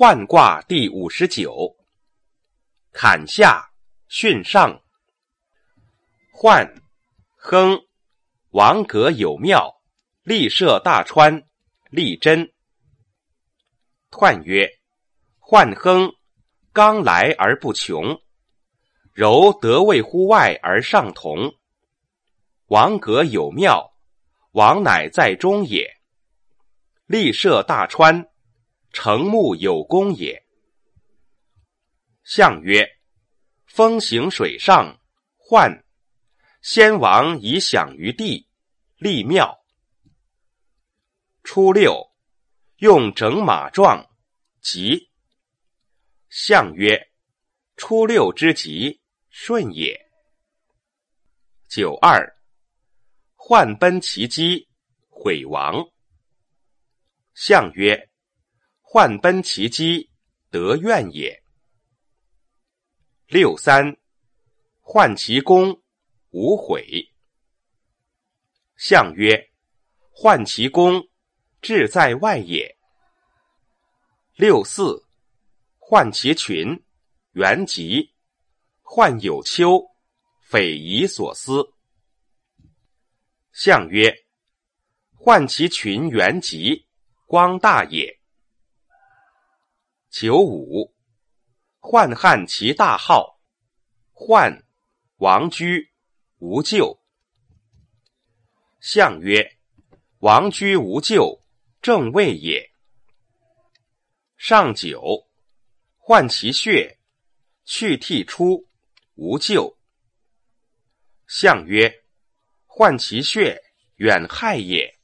涣卦第59。坎下巽上。涣，亨，王阁有庙，立涉大川，利贞。彖曰：涣亨，刚来而不穷，柔得位乎外而上同。王阁有庙，王乃在中也。立涉大川，成木有功也。象曰：风行水上，涣，先王以享于地，立庙。初六，用整马状，吉。象曰：初六之吉，顺也。九二，涣奔其机，毁亡。象曰：涣奔其机，得怨也。六三，涣其功，无悔。象曰：涣其功，志在外也。六四，涣其群，元吉。涣有丘，匪夷所思。象曰：涣其群元吉，光大也。九五，涣汉其大号，涣，王居，无咎。象曰：王居无咎，正位也。上九，涣其血，去涕出，无咎。象曰：涣其血，远害也。